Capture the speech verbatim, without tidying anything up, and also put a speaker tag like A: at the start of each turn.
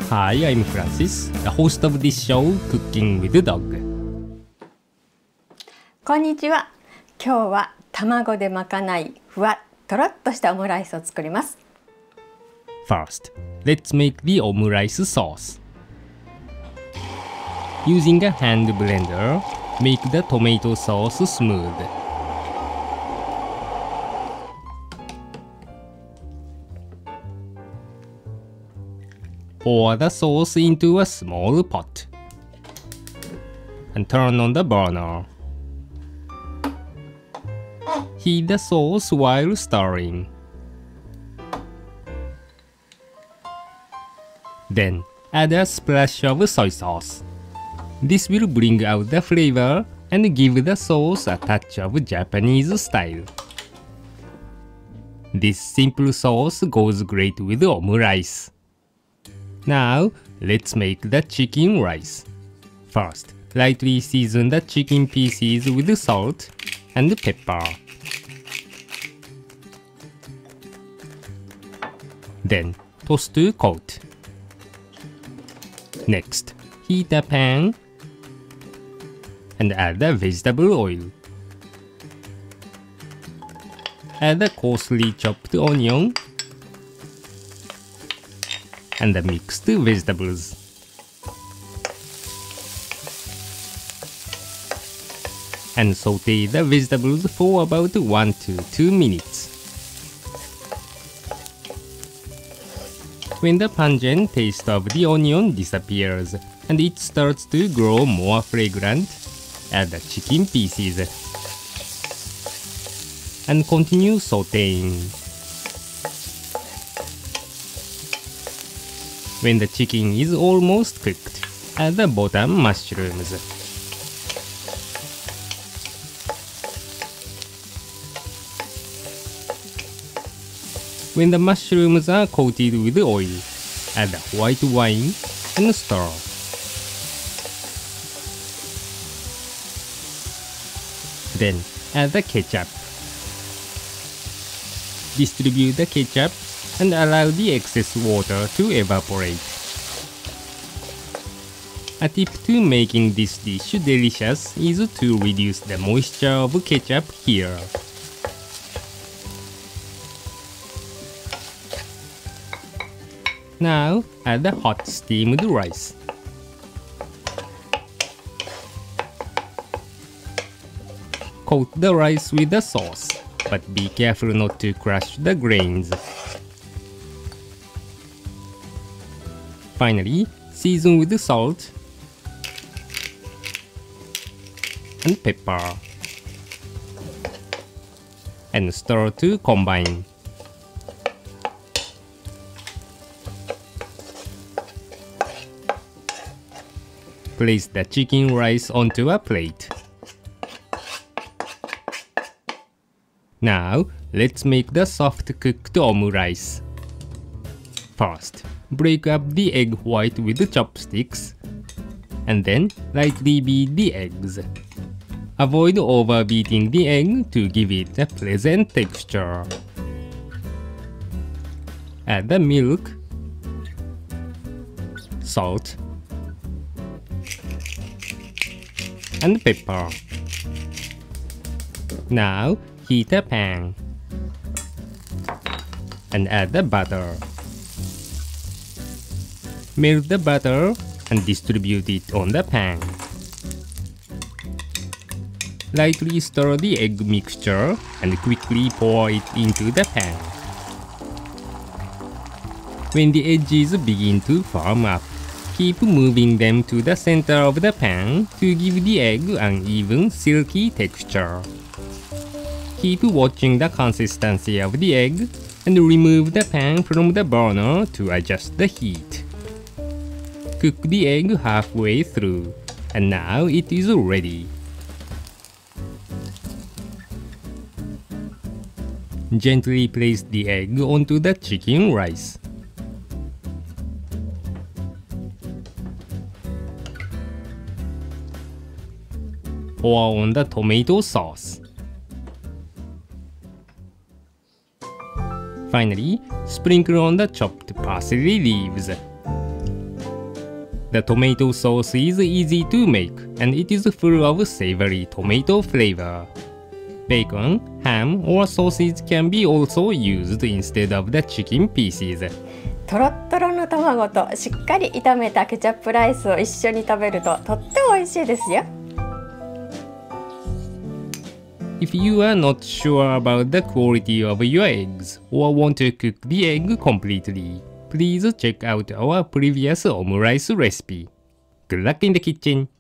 A: Hi, I'm Francis, the host of this show, Cooking with the Dog.
B: こんにちは。今日は卵でまかないふわっとろっとしたオムライスを作ります。
A: First, let's make the omurice sauce. Using a hand blender, make the tomato sauce smooth. Pour the sauce into a small pot and turn on the burner. Heat the sauce while stirring. Then add a splash of soy sauce. This will bring out the flavor and give the sauce a touch of Japanese style. This simple sauce goes great with omurice. Now, let's make the chicken rice. First, lightly season the chicken pieces with salt and pepper. Then, toss to coat. Next, heat a pan and add the vegetable oil. Add the coarsely chopped onion and the mixed vegetables. And saute the vegetables for about one to two minutes. When the pungent taste of the onion disappears and it starts to grow more fragrant, add the chicken pieces and continue sauteing. When the chicken is almost cooked, add the bottom mushrooms. When the mushrooms are coated with oil, add the white wine and stir. Then add the ketchup. Distribute the ketchup and allow the excess water to evaporate. A tip to making this dish delicious is to reduce the moisture of ketchup here. Now, add the hot steamed rice. Coat the rice with the sauce, but be careful not to crush the grains. Finally, season with salt and pepper and stir to combine. Place the chicken rice onto a plate. Now, let's make the soft-cooked omurice. First, break up the egg white with the chopsticks, and then lightly beat the eggs. Avoid overbeating the egg to give it a pleasant texture. Add the milk, salt, and pepper. Now, heat a pan and add the butter. Melt the butter and distribute it on the pan. Lightly stir the egg mixture and quickly pour it into the pan. When the edges begin to firm up, keep moving them to the center of the pan to give the egg an even silky texture. Keep watching the consistency of the egg and remove the pan from the burner to adjust the heat. Cook the egg halfway through, and now it is ready. Gently place the egg onto the chicken rice. Pour on the tomato sauce. Finally, sprinkle on the chopped parsley leaves. The tomato sauce is easy to make, and it is full of savory tomato flavor. Bacon, ham, or sausage can be also used instead of the chicken pieces.
B: とろっとろの卵としっかり炒めたケチャップライスを一緒に食べるととっても美味しいですよ。
A: If you are not sure about the quality of your eggs or want to cook the egg completely, please check out our previous omurice recipe. Good luck in the kitchen!